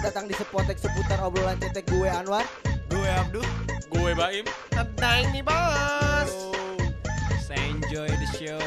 Selamat datang di Sepotek seputar obrolan cetek gue Anwar. Gue Abdu. Gue Baim. Tentang nih bos. So enjoy the show.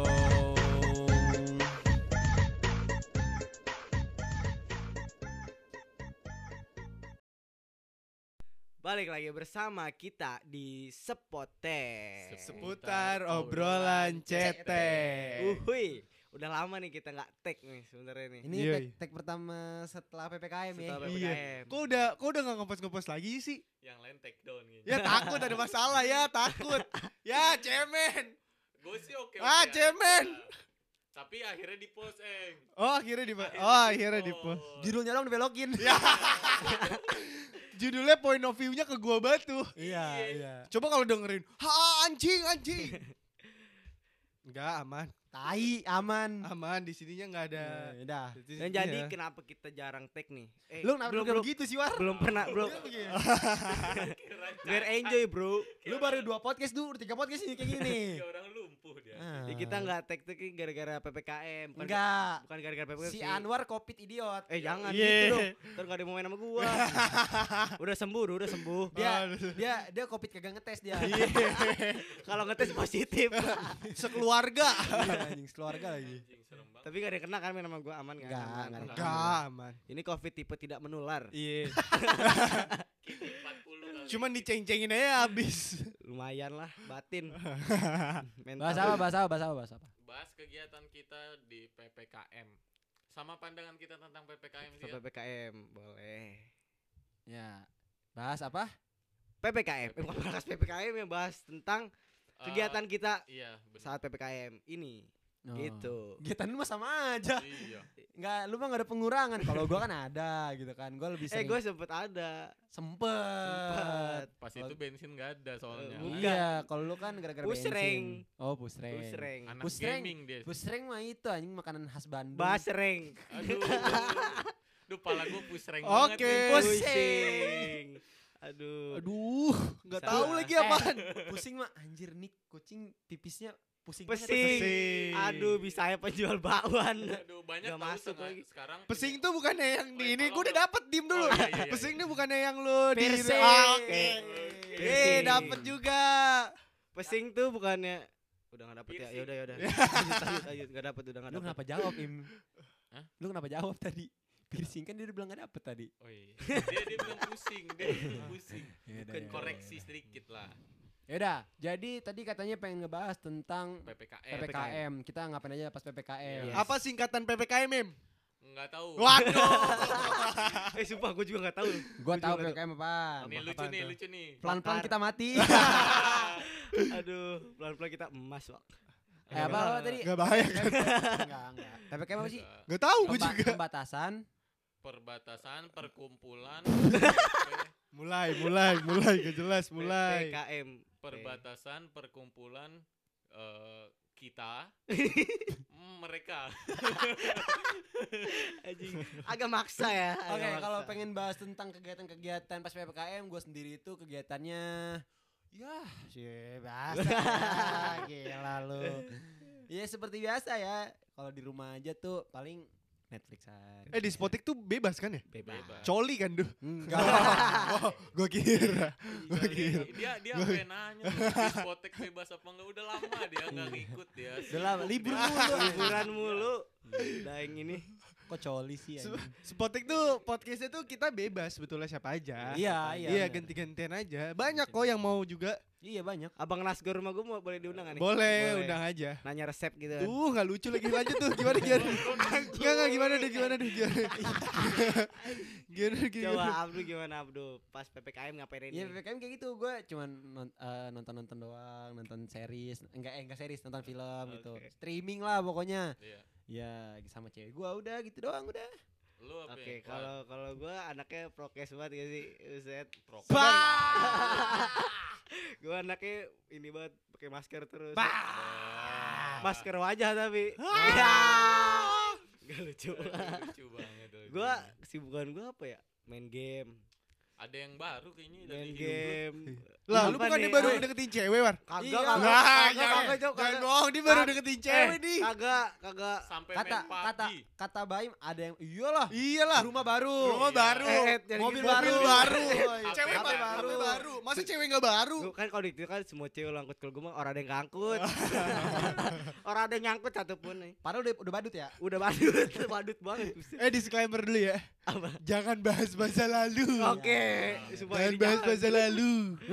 Balik lagi bersama kita di Sepotek. Seputar obrolan cetek. Uhuy, udah lama nih kita nggak tag nih sebenarnya nih. Ini Iya, tag pertama setelah PPKM ya. Setelah Iya. PPKM. Kok udah gak ngepost lagi sih? Yang lain take down gitu. Ya takut ada masalah ya, takut. Ya cemen. Gue sih oke. Cemen. Tapi akhirnya di post Oh akhirnya di post. Judulnya dong dibelokin. Ya. Judulnya point of view-nya ke gua batu. Iya. Coba kalau dengerin, anjing. Enggak, aman. Tai aman. Aman di sininya enggak ada. Udah. Dan jadi kenapa kita jarang tag nih? Lu kenapa belum, kayak begitu sih, War? belum pernah, belum. Biar enjoy, bro. Lu baru 2 podcast dulu, 3 podcast ini kayak gini. Kayak orang lumpuh dia. Ya, kita nggak tag gara-gara PPKM. Enggak. Bukan gara-gara PPKM. Si Anwar covid idiot. Jangan Iya. gitu dong. Ntar gak ada yang mau main sama gua. Udah sembuh. Dia covid kagak ngetes dia. Kalau ngetes positif. Sekeluarga. Anjing keluarga lagi. Anjing serem banget. Tapi gak ada yang kena kan main sama gua, aman kan? Enggak, Aman. enggak ada. Enggak, aman. Ini covid tipe tidak menular. Iya. Kiki 40 kali. Cuman diceng-cengin aja habis. Lumayan lah, batin. Bahas apa? Bahas kegiatan kita di PPKM. Sama pandangan kita tentang PPKM sih. Ya. PPKM, boleh. Ya. Bahas apa? PPKM, bukan bahas PPKM ya, bahas tentang kegiatan kita Iya, benar. saat PPKM ini. Oh. Gitu. Kegiatan lu mah sama aja. Iya. Enggak, lu mah enggak ada pengurangan. Kalau gua kan ada gitu kan. Gua lebih sering. Gue sempet ada. Sempet. Pas itu bensin gak ada soalnya. Bukan. Iya, kalau lu kan gara-gara Pusreng. bensin. Oh, pusreng. Pusreng. Anak Pusreng. gaming dia. Pusreng mah itu anjing makanan khas Bandung. Basreng. Aduh. Duh, pala gue pusreng Oke. banget. nih. Pusing. Aduh. Aduh, enggak Salah. tahu lagi apaan. Pusing mah anjir nih kucing pipisnya pusing. Pesing. Pesing. Aduh, bisa ya penjual bakwan. Aduh, banyak Nggak tahu masuk setengah- lagi. sekarang. Pesing tuh bukannya yang di ini, kalau gue udah lu- dapet dim dulu. Oh, iya. Pesing tuh bukannya yang lu di Piercing. Oke. Piercing. Dapet juga. Pesing tuh bukannya udah gak dapet ya. Piercing. Yaudah. Lanjut. Gak dapet, udah gak Lu dapet. kenapa jawab, Im? Hah? Lu kenapa jawab tadi? Piercing kan dia udah bilang gak dapet tadi. Oh iya. Dia bilang pusing, dia bilang pusing. Bukan koreksi sedikit lah. Yaudah, jadi tadi katanya pengen ngebahas tentang PPKM. PPKM. Kita ngapain aja pas PPKM. Yes. Apa singkatan PPKM, Mem? Enggak tahu. Waduh. Sumpah gue juga gak tahu. Gua tahu juga PPKM apaan. Ini lucu apaan nih, tuh? lucu nih. Pelan-pelan kita mati. Aduh, pelan-pelan kita emas, Wak. Apa tadi? Gak bahaya kan? Enggak. PPKM apa sih? Gak tahu gue juga. Pembatasan. Perbatasan, perkumpulan, Mulai. Gak jelas, mulai. PPKM. perbatasan, perkumpulan kita, mereka. Anjing. Agak maksa ya. Oke, agak kalau maksa. pengen bahas tentang kegiatan-kegiatan pas PPKM, gue sendiri itu kegiatannya ya sih biasa. Gila lu. Ya seperti biasa ya. Kalau di rumah aja tuh paling Netflixan. Di Spotik tuh bebas kan ya? bebas. Coli kan tuh. Enggak. Oh, gue kira. Dia sampai nanya di Spotek bebas apa enggak, udah lama dia enggak ngikut dia. Udah lama libur mulu. Liburan mulu. Daeng ini. Kok coli sih anjing? Spotik tuh podcastnya tuh kita bebas sebetulnya siapa aja. Iya. Iya ganti-gantian aja. Banyak kok yang mau juga. Iya banyak. Abang Nasgor rumah gue mau boleh diundang gak nih? Boleh, undang aja. Nanya resep gitu kan. Tuh nggak lucu lagi, lanjut tuh gimana. Nggak gimana deh. Coba Abdu gimana Abdu? Pas PPKM ngapain ini? Iya PPKM kayak gitu. Gue cuman nonton doang, nonton series. Enggak series, nonton film gitu. Oke. Streaming lah pokoknya. Iya. Ya sama cewek gue udah gitu doang udah. Lu apa? Oke, ya? kalau gue anaknya prokes banget gak sih? Uset. Prokes. Gue anaknya ini banget pakai masker terus. Wah. Masker wajah tapi. Gak lucu. Lucu banget. Gue kesibukan gue apa ya? Main game. Ada yang baru kayaknya Main dari hidup lu. game. Lah, lu Apa bukannya nih? baru Ay, deketin cewek, War? Kagak, Iya. kagak, Lah, kagak, jangan Cok, jangan kagak. bohong, dia baru Kag- deketin cewek nih. Kagak. Sampai Kata main PUBG. kata Baim ada yang iyalah. Iyalah. Rumah baru. Rumah Iya. baru. Jadi Mobil gitu. baru. baru. HP Cewek baru. baru. baru. Masa cewek enggak baru? Gua kan kalau di itu kan semua cewek lo angkut, kalau gue mah orang ada yang ngangkut. Orang ada yang nyangkut satupun nih. Padahal udah badut ya. Udah badut, badut banget. Disclaimer dulu ya. Apa? Jangan bahas masa lalu. Oke, semua Jangan ini bahas jangan. masa lalu.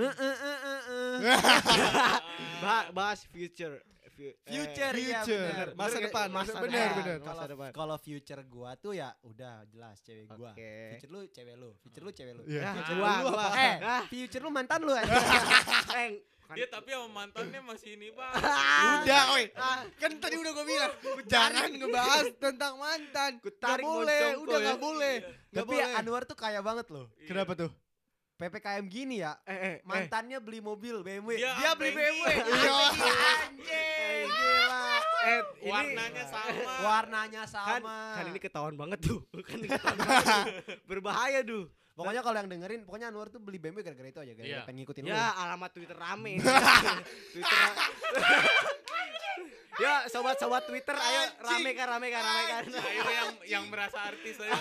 Bahas future. Future, iya Future. benar. Masa Bener, depan, masa benar, depan. benar. Masa depan. Kalau future gua tuh ya udah jelas cewek gua. Oke. Future lu cewek lu, future lu cewek lu. Iya. Ya, Ah, gua. Future lu mantan lu aja. Dia tapi sama mantannya masih ini bang. Udah, oi. Kan tadi udah gue bilang, jangan ngebahas tentang mantan. Ku Gak tarik boleh, moncongko udah ya. gak boleh. Gak Tapi boleh. Anwar tuh kaya banget loh. Kenapa tuh? PPKM gini ya, mantannya beli mobil BMW. Dia Dia beli Avanti. BMW. Iya. Anjing, gila. Ini Warnanya sama. Warnanya kan, sama. kan ini ketahuan banget tuh. Kan ini ketahuan banget tuh. Berbahaya tuh. Pokoknya kalau yang dengerin, pokoknya Anwar tuh beli BMW gara-gara itu aja, gara-gara Iya. pengen ngikutin lu. Ya, alamat Twitter rame. Twitter. Ya, sobat-sobat Twitter, ayo rame kan. Ayo yang merasa artis ayo.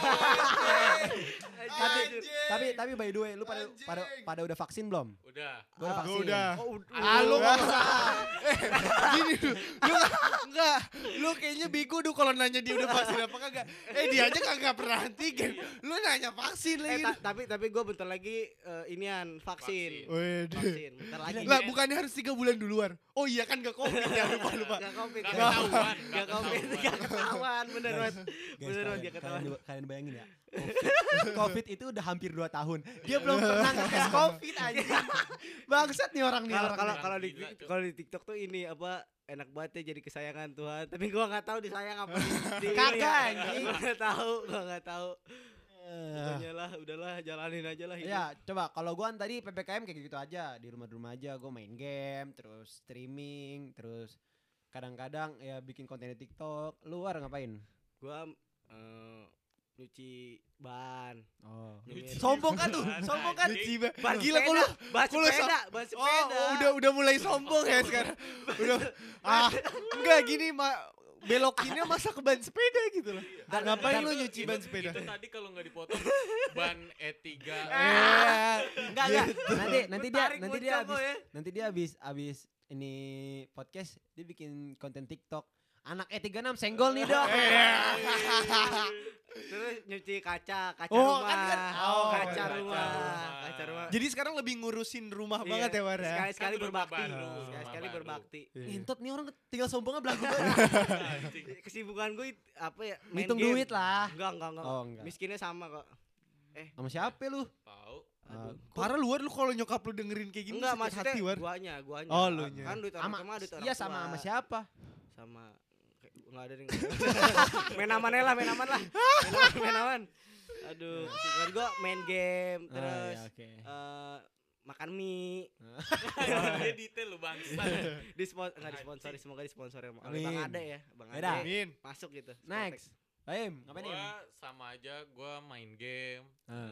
Tapi by the way, lu pada udah vaksin belum? Udah. Lu udah vaksin. Udah. Halo, Gini dulu, enggak, lu kayaknya bego dulu kalau nanya dia udah vaksin apa kagak. Dia aja kagak pernah antigen. Lu nanya vaksin lagi. tapi gue bentar lagi inian vaksin. Waduh. Vaksin, bentar lagi. Lah bukannya harus 3 bulan duluan? Oh iya kan gak covid ya, lupa. Gak covid. Gak ketahuan. Gak covid. Gak ketahuan. Bener banget. Guys, Bener banget gak ketahuan. kalian bayangin ya. COVID itu udah hampir 2 tahun. Dia belum pernah ngetes COVID aja. Bangsat nih orang nih. Kalau di Gila, Cok. kalau di TikTok tuh ini apa enak banget ya jadi kesayangan Tuhan. Tapi gua nggak tahu disayang apa di Kagak, anjing. Gua nggak tahu. Pokoknya lah, udahlah jalanin aja lah hidup. Ya, coba kalau gua tadi PPKM kayak gitu aja, di rumah-rumah aja gua main game, terus streaming, terus kadang-kadang ya bikin konten di TikTok. Luar ngapain? Gua nyuci ban. Oh. Nyemir. Sombong kan tuh, sombong kan. Ciba. Ban Gila kok sepeda, lu. ban kok lu sepeda, ban sepeda. Oh, udah mulai sombong ya sekarang. Udah enggak gini belokinnya masa ke ban sepeda gitu loh. Ngapain lu nyuci ban sepeda? Itu tadi kalau nggak dipotong ban E3. Enggak. Tarik Nanti dia habis ini podcast dia bikin konten TikTok. Anak E36 senggol nih, Dok. Terus nyuci kaca Oh, rumah. kan. Kaca rumah. Jadi sekarang lebih ngurusin rumah Iya, banget ya, War ya. Sekali-sekali Kan rumah berbakti. baru, Sekali-sekali rumah berbakti. Ngentot nih orang tinggal sombongnya belagu banget. Anjing. Kesibukan gue apa ya? Main Ngitung game. duit lah. Enggak. Oh, enggak. Miskinnya sama kok. Sama siapa lu? Tahu. Aduh. Parah lu War, lu kalau nyokap lu dengerin kayak gini Enggak, sakit maksudnya hati, War. guanya. Oh, lu nya. Kan duit orang tua, duit orang Iya tua. sama siapa? Sama enggak ada yang main aman lah. Main aman. Aduh, kesibukan gue main game terus Oh, iya, oke. makan mie. Dia detail lu bangsa. Enggak disponsori, semoga disponsori sama Amin. Bang Ade ya, Bang Yaudah. Ade. Amin. Masuk gitu. Next. Baim, ngapain nih? Gua sama aja, gua main game.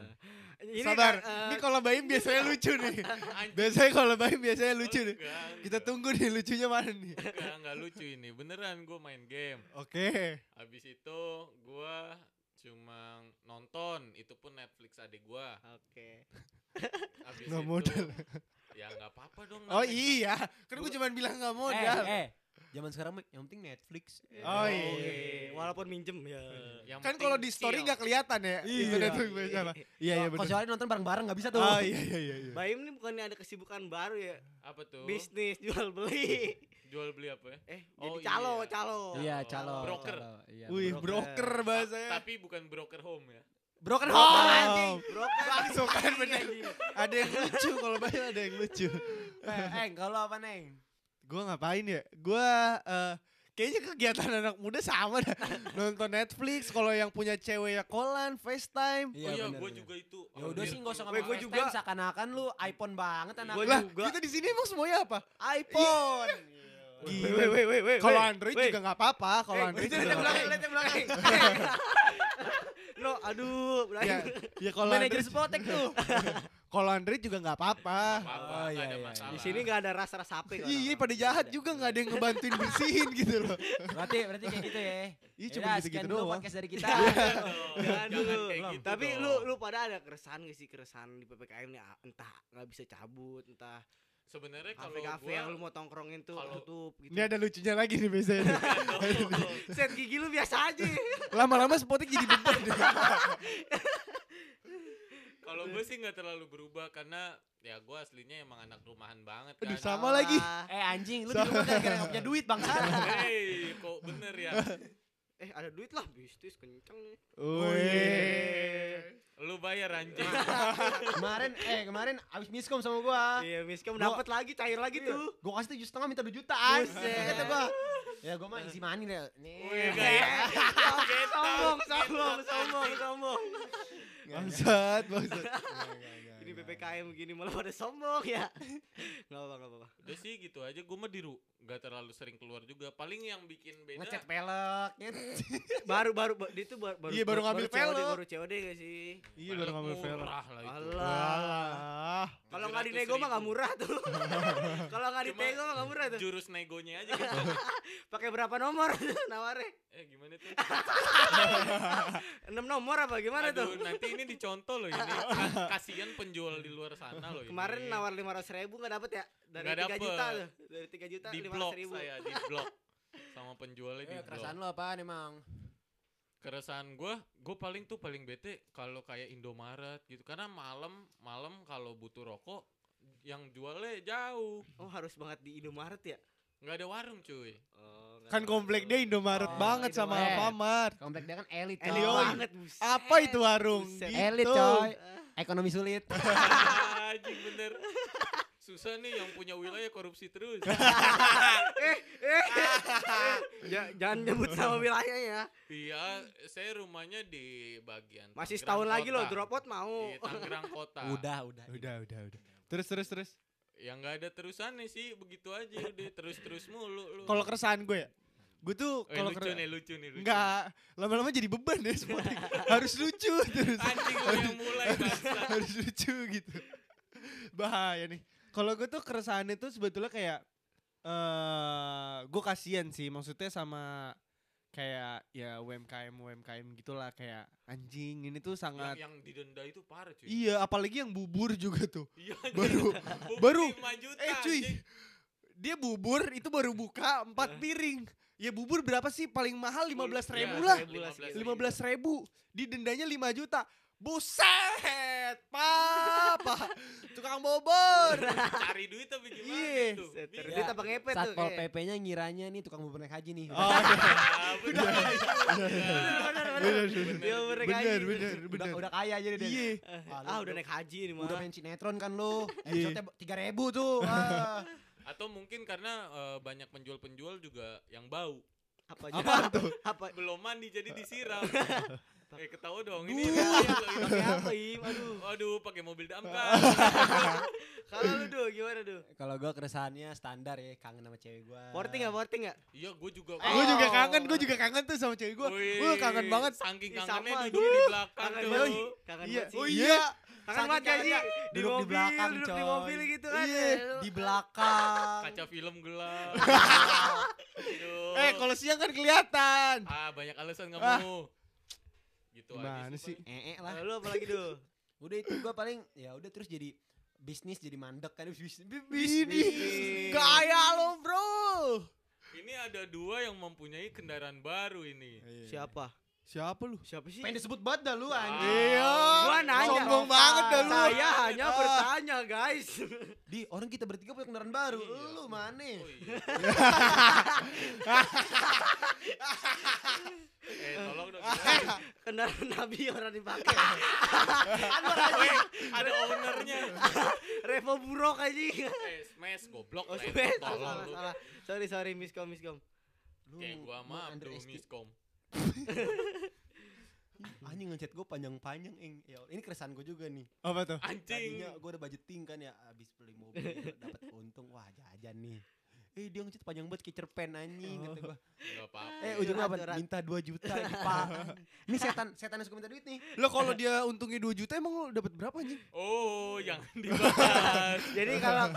Ini Sabar. kan, Ini kalau Baim biasanya lucu nih. Anjing. Biasanya kalau Baim biasanya lucu nih. Enggak, Kita enggak. tunggu nih lucunya mana nih. Enggak lucu ini. Beneran gua main game. Oke. Habis itu gua cuma nonton, itu pun Netflix adik gua. Oke. Habis Nggak itu modal. ya enggak apa-apa dong. Oh namanya. iya, kan gue cuma bilang nggak modal. Zaman sekarang mah yang penting Netflix. Oh Oke, iya. walaupun minjem ya. Yang Kan penting kalau di story chill. nggak kelihatan ya. Iya. Internet tuh apa? Iya Kalau benar. soalnya nonton bareng-bareng nggak bisa tuh. Oh iya. Baim ini bukannya ada kesibukan baru ya? Apa tuh? Bisnis jual beli. Jual beli apa ya? Jadi Oh, calo. Iya, calo. Broker. calo, Iya, Wih, broker. broker bahasanya. Tapi bukan broker home ya. Broken Oh, home. anjing. Broker. Langsung kan bener. Ada yang lucu kalau Baim ada yang lucu. Kalau apa, Neng? Gue ngapain ya? Gue kayaknya kegiatan anak muda sama dah. Nonton Netflix, kalau yang punya cewek ya callan, FaceTime. Oh iya, bener, gua bener. juga itu. Ya udah sih nggak usah Weh, ngomong gua FaceTime, juga. seakan-akan lu iPhone banget anak. Gua Lah, juga. kita di sini emang semuanya apa? iPhone. Gila. Kalau Android juga nggak apa-apa. Kalau Android juga nggak apa-apa. Lihat yang belakang. No, aduh. Ya, ya kalau Manajer Andre, Spotek tuh. kalau Andre juga nggak apa-apa. Apa-apa, Oh, nggak iya, ada iya. masalah. Di sini nggak ada rasa-rasa HP. Iya, pada jahat juga nggak ada yang ngebantuin bersihin gitu loh. Berarti kayak gitu ya. Iya, cuma Yaudah, gitu-gitu sekian dulu doang. podcast dari kita. Jangan dulu. kayak gitu Tapi dong. lu pada ada keresahan gak sih keresahan di PPKM nih? Entah nggak bisa cabut, entah Sebenarnya kalau kafe-kafe yang lu gua mau tongkrongin tuh kalau- tutup gitu. Ini ada lucunya lagi nih biasanya. Set gigi lu biasa aja. Lama-lama Spotik jadi beban. kalau gue sih nggak terlalu berubah karena ya gue aslinya emang anak rumahan banget kan. Aduh, sama lagi. Anjing, lu di rumah gara-gara gak punya duit bangsa. Hei, kok bener ya? Ada duit lah, bisnis kenceng nih. Wih. Lu bayar anjing. Kemarin abis miskom sama gua. Iya, miskom dapat lagi, cair lagi tuh. Gua kasih 7,5 minta 2 jutaan. Buset. Kata gua. Ya gua mah isi money deh. Nih. Wih, kayak Sombong. Bangsat. Ini PPKM begini malah pada sombong ya. Enggak apa-apa. udah sih gitu aja. Gue mah nggak terlalu sering keluar juga. Paling yang bikin beda. Ngecat pelek gitu. Baru dia tuh baru Iya, baru ngambil COD, pelek. baru COD gak sih? Iya, baru ngambil film. murah lah itu. Alah. Kalau nggak dinego mah nggak murah tuh. Kalau nggak Cuma dinego mah nggak murah tuh. Jurus negonya aja gitu. Pakai berapa nomor nawarnya? Gimana tuh? 6 nomor apa gimana Aduh, tuh? nanti ini dicontoh loh ini. Kasihan penjual di luar sana loh ini. Kemarin nawar 500.000 nggak dapet ya? Dari Nggak 3 juta dapet. tuh. Dari 3 juta di blok 500.000. saya, di blok. Sama penjualnya di blok. Kerasaan lu apaan emang? Keresahan gue paling bete kalau kayak Indomaret gitu. Karena malam kalau butuh rokok yang jualnya jauh. Oh, harus banget di Indomaret ya? Nggak ada warung cuy. Oh, nggak Kan tahu. komplek dia Indomaret Oh, banget sama Indomaret. Alfamart. Komplek dia kan elit, Elit Yoi. banget, buset. Apa itu warung? Buset. Gitu. Elit coy. Ekonomi sulit. Anjing bener. Susah nih yang punya wilayah korupsi terus. Jangan nyebut sama wilayahnya. Iya, saya rumahnya di bagian Masih Tangerang setahun lagi Kota. loh drop out mau. Di Tangerang Kota. Udah. Udah. Terus. Yang nggak ada terusannya sih, begitu aja udah terus mulu lu. Kalau keresahan gue ya, gue tuh kalau lucu nih. enggak lama-lama jadi beban ya Spotik. Harus lucu terus. Anjing lu yang mulai bangsa. Harus lucu gitu. Bahaya nih. Kalau gue tuh keresahannya tuh sebetulnya kayak gue kasihan sih, maksudnya sama kayak ya UMKM gitulah, kayak anjing ini tuh sangat Yang didenda itu parah cuy. iya, apalagi yang bubur juga tuh. Iya, baru 5 juta, cuy, anjing. dia bubur itu baru buka 4 piring. Ya bubur berapa sih paling mahal 15.000 Iya, lah. 15.000. 15.000 didendanya 5 juta. Buset, Pak. Tukang bobor. Cari duit tapi gimana Iya. itu? Terus dia tambah ngepet tuh. Satpol kayak. PP-nya ngiranya nih tukang bubur naik haji nih. Oh, Dia mereka bener, aja. Udah kaya aja deh. Iya. Udah naik haji nih mah. Udah main sinetron kan lu. Iya. Episode 3.000 tuh. Atau mungkin karena banyak penjual-penjual juga yang bau. Apa tuh? Apa? Belum mandi jadi disiram. Ketawa dong ini. Pakai apa, Im? Aduh. Waduh, pakai mobil damkar. Kalau lu Duh, gimana Duh? Kalau gua keresahannya standar ya, kangen sama cewek gua. Porting enggak? Iya, gue juga. Gue juga kangen tuh sama cewek gue. Gue kangen banget. Saking Ih, kangennya sama, duduk di belakang Kangen tuh. banget. Kangen Iya. banget sih. Oh iya. Kangen banget gak sih? Di Duduk di mobil, belakang, duduk di coy. mobil gitu kan. Iya. Lu- Di belakang. Kaca film gelap. Aduh. Kalau siang kan kelihatan. Banyak alasan nggak Ah. mau. Gitu Gimana aja sih? Lah. Lu apa lagi Duh? Udah itu gua paling ya udah terus jadi bisnis jadi mandek kan Ini gaya lo bro. Ini ada 2 yang mempunyai kendaraan baru ini. Siapa? Siapa lu? Siapa sih? Pengen disebut banget dah lu anjing. Iya. Gua nanya. Sombong banget dah lu. Saya hanya bertanya, guys. Di orang kita bertiga punya kendaraan baru. Lu mana? Oh iya. Tolong dong. Kendaraan Nabi orang dipakai. Ada ownernya. Revo Burok aja. Smash goblok Oh, lah, sebentar. tolong lu. Salah. Sorry, miskom. Kayak gua mah bro underestimate. miskom. Anjing ngechat gue panjang-panjang ya, ini keresahan gue juga nih. Apa tuh? Anjing. Tadinya gue udah budgeting kan ya, abis beli mobil dapat untung, wah jajan nih. dia ngecat panjang banget kayak cerpen anjing kata gua. Enggak apa-apa. Ujungnya apa? Aturan. Minta 2 juta nih Pak. Ini setan yang suka minta duit nih. Lo kalau dia untungnya 2 juta emang lo dapat berapa anjing? Oh, jangan dibahas. Jadi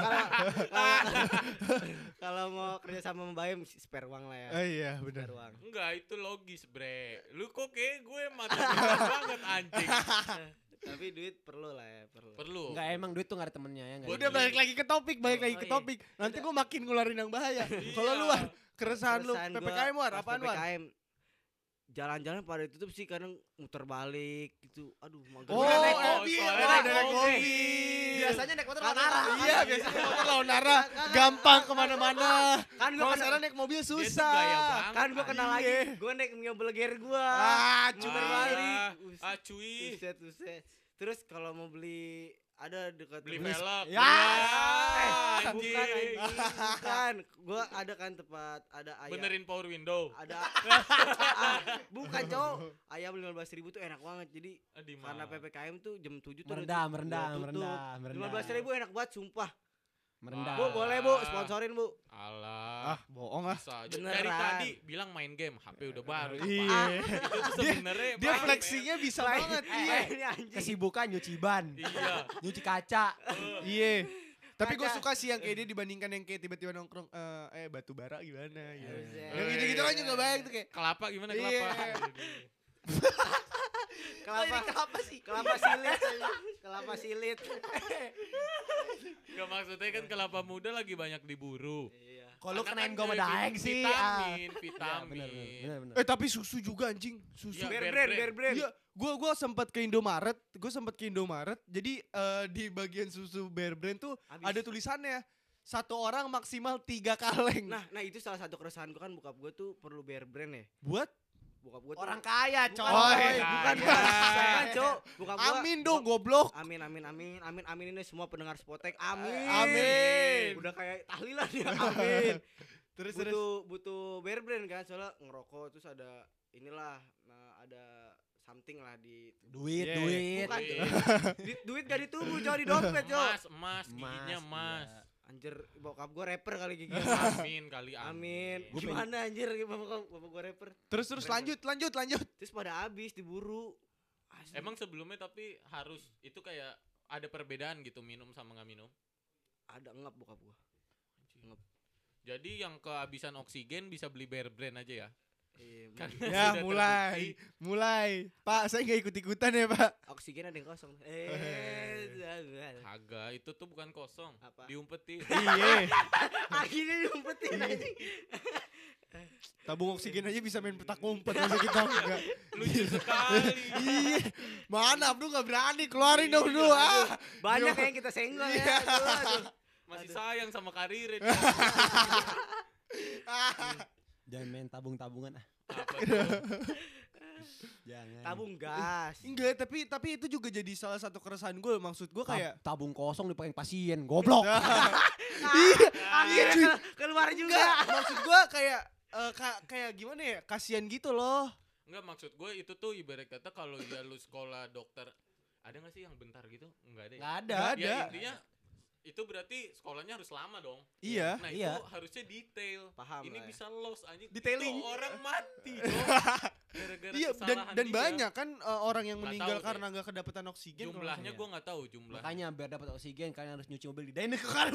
kalau mau kerja sama Mbak Im spare uang lah ya. Iya benar. Spare uang. Enggak, itu logis, bre. Lu kok kayak gue matematika banget anjing. Tapi duit perlu lah ya, perlu. Perlu. Enggak emang duit tuh enggak ada temennya ya enggak. Gua Udah balik lagi ke topik, balik lagi Oh, ke iya. topik. Nanti gue makin ngeluarin yang bahaya. Iya. Kalau lu War, keresahan lu Keresahan gua PPKM War, pas apaan War? PPKM jalan-jalan pada ditutup sih kadang muter balik gitu. Aduh, mager. Oh, Udah naik mobil, mobil, soalnya Wak. naik naik mobil. mobil. Biasanya naik motor Kagak. lawan arah. Iya, biasanya motor lawan arah, gampang kemana-mana. Kan gua Kalau kenal, sekarang naik mobil Dia tuh susah. gaya banget. kan gua kenal Iya. lagi. Gua naik Mio Belger gua. Ah, Muter cuma balik. Cuy. Buset. Terus kalau mau beli ada dekat Beli rumah- velg. Ya. bukan anjing, bukan. Gua ada kan tempat ada ayam. Benerin power window. Ada bukan cowok. Ayam 15.000 tuh enak banget. Jadi Di karena mana? PPKM tuh jam 7 tuh Merendah, udah merendah, tutup. merendah, merendah. 15.000 enak banget sumpah. Merendah. Bu, boleh Bu, sponsorin Bu. Alah. Ah, bohong ah. Bisa aja. Beneran. Dari tadi bilang main game, HP udah baru. Iya. Itu tuh sebenarnya Dia main, flexinya bisa banget. Iya. Ini anjing. Kesibukan nyuci ban, men. Iya. nyuci kaca. Iya. Tapi gue Kaca. suka sih yang kayak dia dibandingkan yang kayak tiba-tiba nongkrong batu bara gimana gitu. Buset. Yang gitu-gitu kan juga baik tuh kayak Kelapa gimana Iya. kelapa? Kelapa sih? Kelapa silit. Kelapa silit. Gak maksudnya kan kelapa muda lagi banyak diburu. Iya. Kalau Karena kenain kan gua sama dari Daeng sih. Vitamin, Iya, vitamin. bener. tapi susu juga anjing. Susu. Iya, Bear Bear brand, brand. bear brand. Iya, gua sempat ke Indomaret. Jadi di bagian susu Bear Brand tuh Habis. ada tulisannya 1 orang maksimal 3 kaleng. Nah itu salah satu keresahan gue kan bokap gue tuh perlu bear brand ya. buat Bokap gue Orang kaya, bukan, coy. bukan, Kaya. bukan, Cok. Bokap gua amin dong goblok. Amin ini semua pendengar Spotek. Amin. Amin. Udah kayak tahlilan ya. Amin. Terus butuh bear brand kan soalnya ngerokok terus ada inilah ada something lah di Duit, Yeah. duit. bukan Duit. duit gak ditunggu coy di dompet coy. Emas, giginya emas. iya. Anjir bokap gue rapper kali gigi. Amin kali Amin. Gua Gimana anjir bapak gue rapper. terus lanjut. Terus pada habis diburu. Asli. Emang sebelumnya tapi harus itu kayak ada perbedaan gitu minum sama nggak minum. ada ngap bokap gue. Jadi yang kehabisan oksigen bisa beli Bear Brand aja ya. Iya, Karena Ya sudah mulai. terbukti. Pak, saya nggak ikut-ikutan ya Pak. oksigen ada yang kosong. Kagak, itu tuh bukan kosong. Apa? Diumpetin. Iya. Akhirnya diumpetin anjing. Tabung oksigen aja bisa main petak umpet masa kita enggak. Lucu sekali. Iya. Mana Abdul nggak berani keluarin dong dulu ah. Banyak yang kita senggol ya. Aduh. Masih sayang sama karirnya. Jangan main tabung-tabungan ah. Apa tuh? Jangan. Tabung gas. Enggak, tapi itu juga jadi salah satu keresahan gue. Maksud gue kayak Tabung kosong dipakai pasien, goblok. iya, Akhirnya keluar juga. enggak, maksud gue kayak kayak gimana ya? Kasihan gitu loh. Enggak, maksud gue itu tuh ibarat kata kalau ya lu sekolah dokter, ada nggak sih yang bentar gitu? Enggak ada. Ya? Enggak ada. Nggak Ya ada. intinya itu berarti sekolahnya harus lama dong. Iya. Nah Iya. itu harusnya detail. Paham Ini lah ya. bisa loss anjing. Detailing. Itu orang mati dong. Gara-gara Iya, kesalahan dan dia. banyak kan orang yang Nggak meninggal tahu deh. karena nggak kedapatan oksigen. kalau Jumlahnya nggak gue nggak tahu jumlah. Makanya biar dapat oksigen kalian harus nyuci mobil di Daeng ke kan.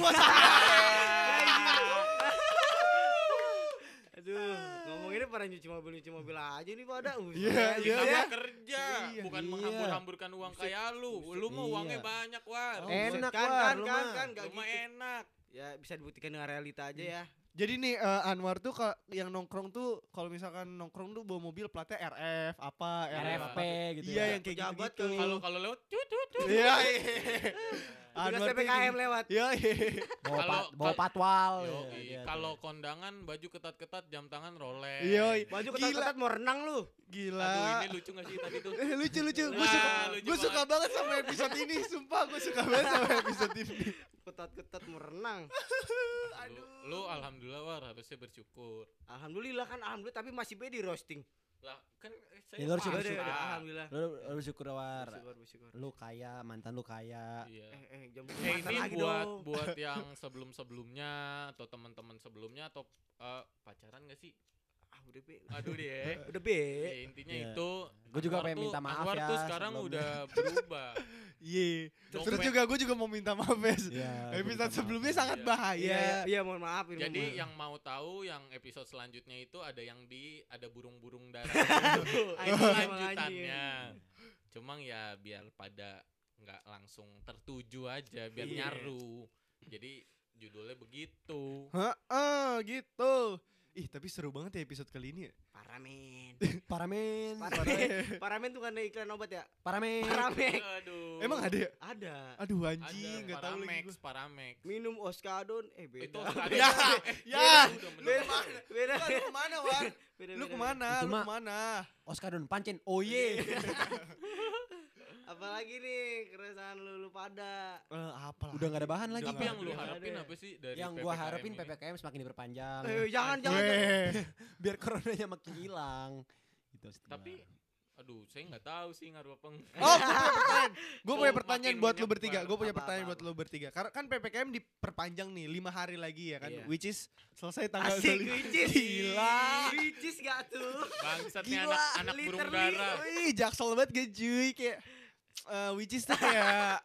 Aduh, ngomonginnya pada nyuci mobil aja nih pada. Iya, Kita iya. mah kerja, Iya. bukan Iya. menghambur-hamburkan uang kayak lu. Lu mah Iya. uangnya banyak, War. Oh, Enak enak, kan, War, kan, lu kan, mah. kan, gak Lu mah gitu. enak. Ya bisa dibuktikan dengan realita aja ya. Jadi nih Anwar tuh yang nongkrong tuh kalau misalkan nongkrong tuh bawa mobil platnya RF apa RFP gitu Iya ya. yang kayak Pejabat gitu. Kalau lewat cut. Iya. Tugas Anwar tuh PPKM gini. lewat. Iya. Bawa, Kalau- bawa patwal. Yoi, ya, gitu. kalau kondangan baju ketat-ketat, jam tangan Rolex. Iya. Baju Gila. ketat-ketat mau renang lu. Aduh, Gila. ini lucu gak sih tadi tuh? Lucu. Gue Wah, suka, lucu gue suka banget sama episode ini. Sumpah gue suka banget sama episode ini. Ketat-ketat mau renang. Lu alhamdulillah War harusnya bersyukur. Alhamdulillah kan, alhamdulillah tapi masih be di roasting. Lah kan Ya, lu harus paksa. syukur-syukur. Alhamdulillah. Lu bersyukur war. Bersyukur. Lu kaya, mantan lu kaya. Iya. Jam Ini lagi buat dong. buat yang sebelum-sebelumnya atau teman-teman sebelumnya atau pacaran gak sih? Udah be. Aduh deh. Udah be. Ya, intinya Iya. itu. Gua juga Anwar pengen tuh- minta maaf Anwar ya tuh sekarang sebelumnya. udah berubah. Iya. Terus Dompet- juga gue juga mau minta maaf Bes. Iya. gua minta Episode maaf. sebelumnya Iya. sangat bahaya. Iya, mohon maaf ini. Jadi mohon yang mau tahu yang episode selanjutnya itu ada yang ada burung-burung darah. maaf. itu Anjing, lanjutannya. Cuma ya biar pada nggak langsung tertuju aja, biar Iya. nyaru. Jadi judulnya begitu. Heeh, gitu. Ih, tapi seru banget ya episode kali ini ya. Paramen. Paramen. Paramen tuh kan ada iklan obat ya? Paramen. Paramex. Aduh. Emang ada ya? Ada. Aduh Ada anjing, enggak tahu lagi Paramex, gua. Paramex. Minum Oskadon beda. Itu Ya, ya. udah Beda. menang. Beda. Lu kemana, War? Beda. Lu kemana? Itu Lu mah- kemana? Oscar Don Pancen. Oh ye. Apalagi nih keresahan lu pada. Apa lah? Udah gak ada bahan lagi. Tapi yang lu Ada. harapin apa sih dari Yang gua PPKM harapin ini? PPKM semakin diperpanjang. Jangan. Biar coronanya makin hilang. Gitu sih. Tapi aduh, saya nggak tahu sih ngaruh apa enggak. Oh, gue punya pertanyaan. Gue punya Oh, pertanyaan makin buat lu menyebar. bertiga. Gue punya Apa, pertanyaan apa, buat lu bertiga. Karena kan PPKM diperpanjang nih 5 hari lagi ya kan. Iya. Which is selesai tanggal Asik 25. whicis. Gila. Whicis gak tuh? Bangsatnya Gila, anak burung literally. darah. Wih, jaksel banget gak cuy kayak which is tuh kayak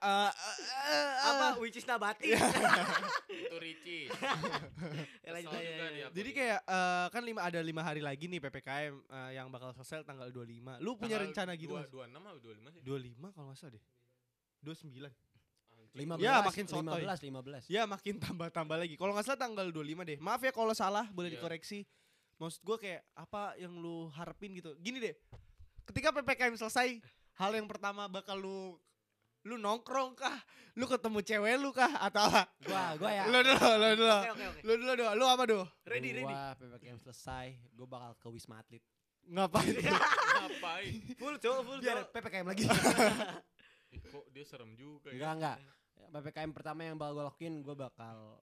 Apa whicis nabati? Itu Ricci. Ya, lanjut Kesel aja, juga ya. dia. jadi kayak kan ada 5 hari lagi nih PPKM yang bakal selesai tanggal 25. Lu punya Tanggal rencana gitu? 26 atau 25 sih? 25 kalau nggak salah deh. 29. 15, Ya, makin sotoy. 15. Ya makin tambah-tambah lagi. Kalau nggak salah tanggal 25 deh. Maaf ya kalau salah, boleh Iya. dikoreksi. Maksud gue kayak apa yang lu harapin gitu. Gini deh. Ketika PPKM selesai, hal yang pertama bakal lu nongkrong kah? Lu ketemu cewek lu kah atau apa? Gua ya. Lu dulu. Oke. Lu dulu. Lu apa dulu? Ready. Gua PPKM selesai, gua bakal ke Wisma Atlet. Ngapain? Ngapain? Full cowok. Biar PPKM lagi. Ih, kok dia serem juga Enggak. PPKM pertama yang bakal gua lakuin, gua bakal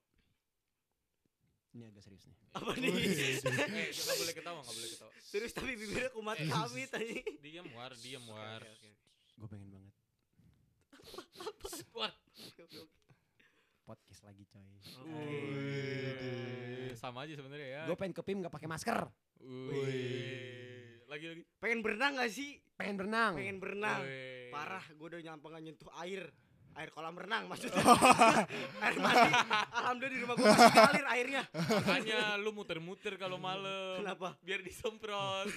ini agak serius nih. Apa nih? Nggak boleh ketawa. Serius tapi bibirnya kumat kami tadi. Diam war. Gua pengen banget War. podcast lagi coy. Sama aja sebenarnya ya. Gua pengen ke PIM enggak pakai masker. Lagi. Pengen berenang gak sih? Pengen berenang. Pengen berenang. Wih. Parah, gue udah nyampe gak nyentuh air kolam renang maksudnya. Air mandi. Alhamdulillah di rumah gue masih ngalir airnya. Makanya lu muter-muter kalau malam. Kenapa? Biar disemprot.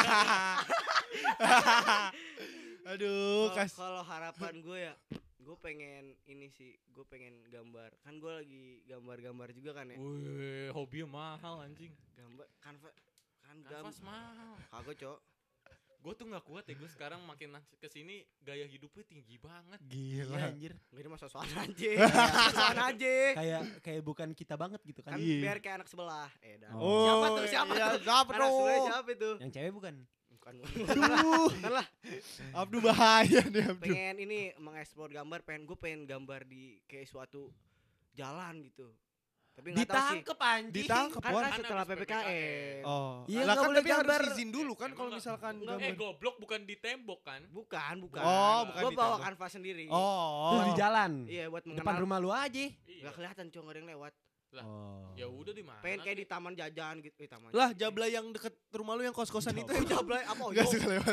Aduh, Kalau harapan gue ya, gue pengen ini sih, gue pengen gambar. Kan gue lagi gambar-gambar juga kan ya. Wih, hobinya mahal anjing. Gambar kanvas Kanvas mahal. Kagak, Cok. Gue tuh nggak kuat ya, gue sekarang makin kesini gaya hidupnya tinggi banget. gila. Iya anjir. Gak ada soal aja. Soal aja. Kayak bukan kita banget gitu kan. Kan Iya. biar kayak anak sebelah. Dah. Oh. Siapa tuh? iya, Siapa siapa Anak sebelah tuh? siapa itu? Yang cewek bukan. Bukan. Aduh, Bukan lah. Abdu bahaya nih Abdu. Pengen ini mengeksplor gambar, gue pengen gambar di kayak suatu jalan gitu. Tapi nggak tahu sih. Ditangkep anjing. Ditangkep, Kan, War. kan setelah Habis PPKM. Oh, Iya, lah nggak kan boleh tapi gambar. harus izin dulu kan Emang kalau nggak- misalkan enggak, gambar. Goblok bukan di tembok kan? Bukan. Oh, bukan Gue di bawa tembok. kanvas sendiri. Oh, Terus di jalan. Iya, buat Depan mengenal. rumah lu aja. Iya. Gak kelihatan, Cok, gak ada yang lewat. Lah, Oh. ya udah di mana? Pengen kayak di taman jajan gitu. Taman. lah Jablay yang deket rumah lu yang kos-kosan itu Jablay apa? Gak suka lewat.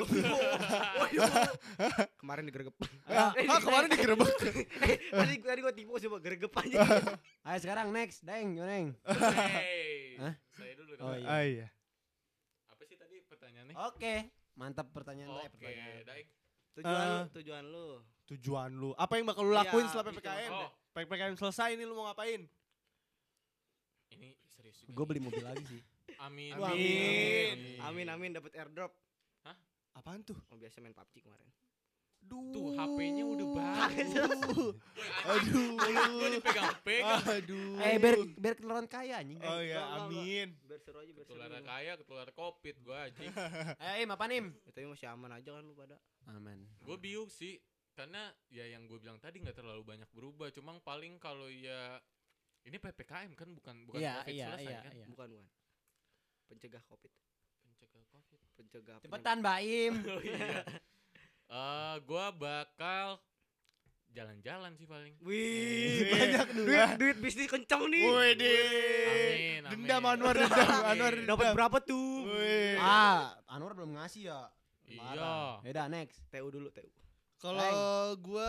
Kemarin digeregep. Ah, kemarin digerebek. Tadi gue tipu sih, geregep aja. Ayo sekarang next, Deng, Neng. Hey, Hah? saya dulu. Oh, dong. iya. Ah iya. Apa sih tadi pertanyaannya? Oke, mantap pertanyaan lu. Oke, Daik. Tujuan lu. Tujuan lu. Apa yang bakal lu lakuin Iya, setelah gitu. PPKM? Oh. PPKM selesai ini lu mau ngapain? Ini serius juga. Gue beli mobil lagi sih. Amin. Amin dapat airdrop. Apaan tuh? Oh, biasa main PUBG kemarin. Tuh HP-nya udah bagus. Aduh. Gue dipegang-pegang. Aduh. Biar ketularan kaya anjing. Oh ya, Enggak. amin. Biar seru aja, biar seru. Ketular kaya, ketular covid gue anjing. Ayo Im, apa Nim? Ya, tapi masih aman aja kan lu pada. Aman. Gue bingung sih. Karena ya yang gue bilang tadi nggak terlalu banyak berubah. Cuma paling kalau ya ini PPKM kan bukan Iya, COVID iya, selesai iya, kan. iya. Bukan. Pencegah Covid. Pencegah covid. pencegah. Cepetan Baim. Oh iya. Gua bakal jalan-jalan sih paling. Wih, Banyak duit bisnis kencang nih. Wih, Amin. dendam Anwar Anwar Dapat berapa tuh? Wih. Anwar belum ngasih ya. Iya. Yaudah next. TU dulu, TU. Kalau gua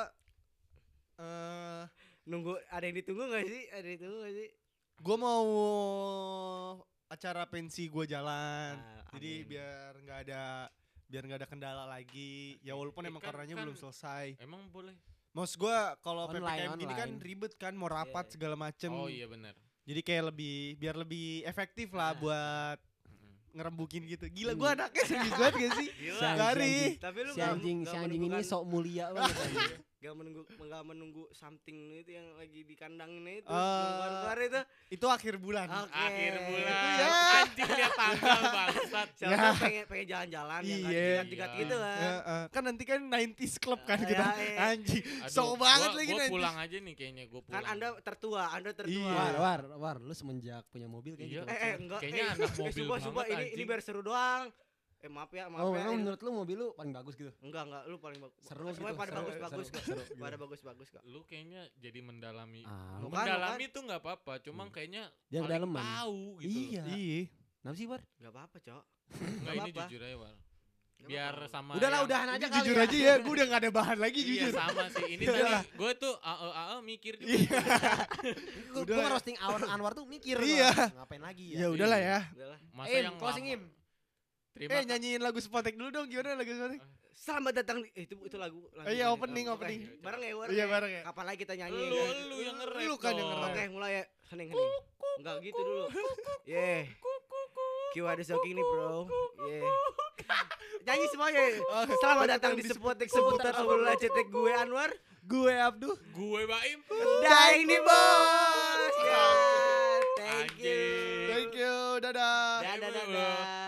Nunggu ada yang ditunggu gak sih? Ada yang ditunggu gak sih? gua mau acara pensi gua jalan. Jadi Amin. biar nggak ada kendala lagi. Ya walaupun emang Kan- coronanya kan- belum selesai. Emang boleh? Maksud gua kalau Online, PPKM gini kan online. ribet kan, mau rapat Iya. segala macem. Oh iya benar. Jadi kayak biar lebih efektif lah Ah. buat Mm-mm. ngerembukin gitu. Gila gua anaknya serius banget gak sih? Gila. Gari. Tapi lu Si anjing ini sok mulia banget. anjing. Gak menunggu something itu yang lagi di kandangnya itu. Eh, Keluar itu. Itu akhir bulan. Oke. Akhir bulan. Itu ya. Anjing lihat tanggal bangsat. Siapa Ya. tahu pengen jalan-jalan yang Iya. gak jigat-jigat Iya. gitu kan. Kan nanti kan 90s club kan Ah, kita. iya, iya. Anjing. Aduh, Sok banget gua- lagi gua 90s. pulang aja nih kayaknya gua pulang. Kan Anda tertua. Iya. War, lu semenjak punya mobil kayak Iya. gitu. Enggak. Kayaknya anak mobil sumpah, banget, ini anjing. biar seru doang. Maaf ya. Oh, ya. emang menurut lu mobil lu paling bagus gitu? Enggak, lu paling bagus. Seru Semuanya gitu, pada seru, bagus-bagus seru, kok. seru, gitu. Pada bagus-bagus kok. Lu kayaknya jadi mendalami. Ah, Bukan, Mendalami tuh nggak apa-apa, cuma kayaknya Dia paling kedalaman. tahu gitu. Iya. Iya. Kenapa sih, War? Gak apa-apa, Cok. Enggak ini apa-apa. jujur aja, War. Gak Biar apa-apa. sama Udahlah, yang- udahan aja Ini kali jujur ya. aja ya, gue udah gak ada bahan lagi Iya jujur. sama sih. Ini Iya. tadi gue tuh AE mikir juga. Iya. Gue Udah. ngerosting Anwar tuh mikir. Iya. gua, ngapain lagi Ya ya? udahlah ya. Udahlah. Masa Im, yang closing lama. Im. Terima Nyanyiin lagu Spotek dulu dong, gimana lagu Spotek? Selamat datang di itu lagu. Iya, dari- opening, Oke, opening. Bareng ya, War. Iya, bareng ya. Kapan lagi kita nyanyi? Lu kan? lu yang nge-rap. Lu kan yang dong. nge-rap. Oke, mulai ya. Hening. Enggak gitu dulu. Yeah. Q ada shocking nih, bro. Yeah. Nyanyi semuanya. Selamat datang di Spotek seputar obrolan cetek gue Anwar. Gue Abduh. Gue Baim. Daing nih, bos. Ya. Thank you. Anjing. Thank you, dadah. Dadah.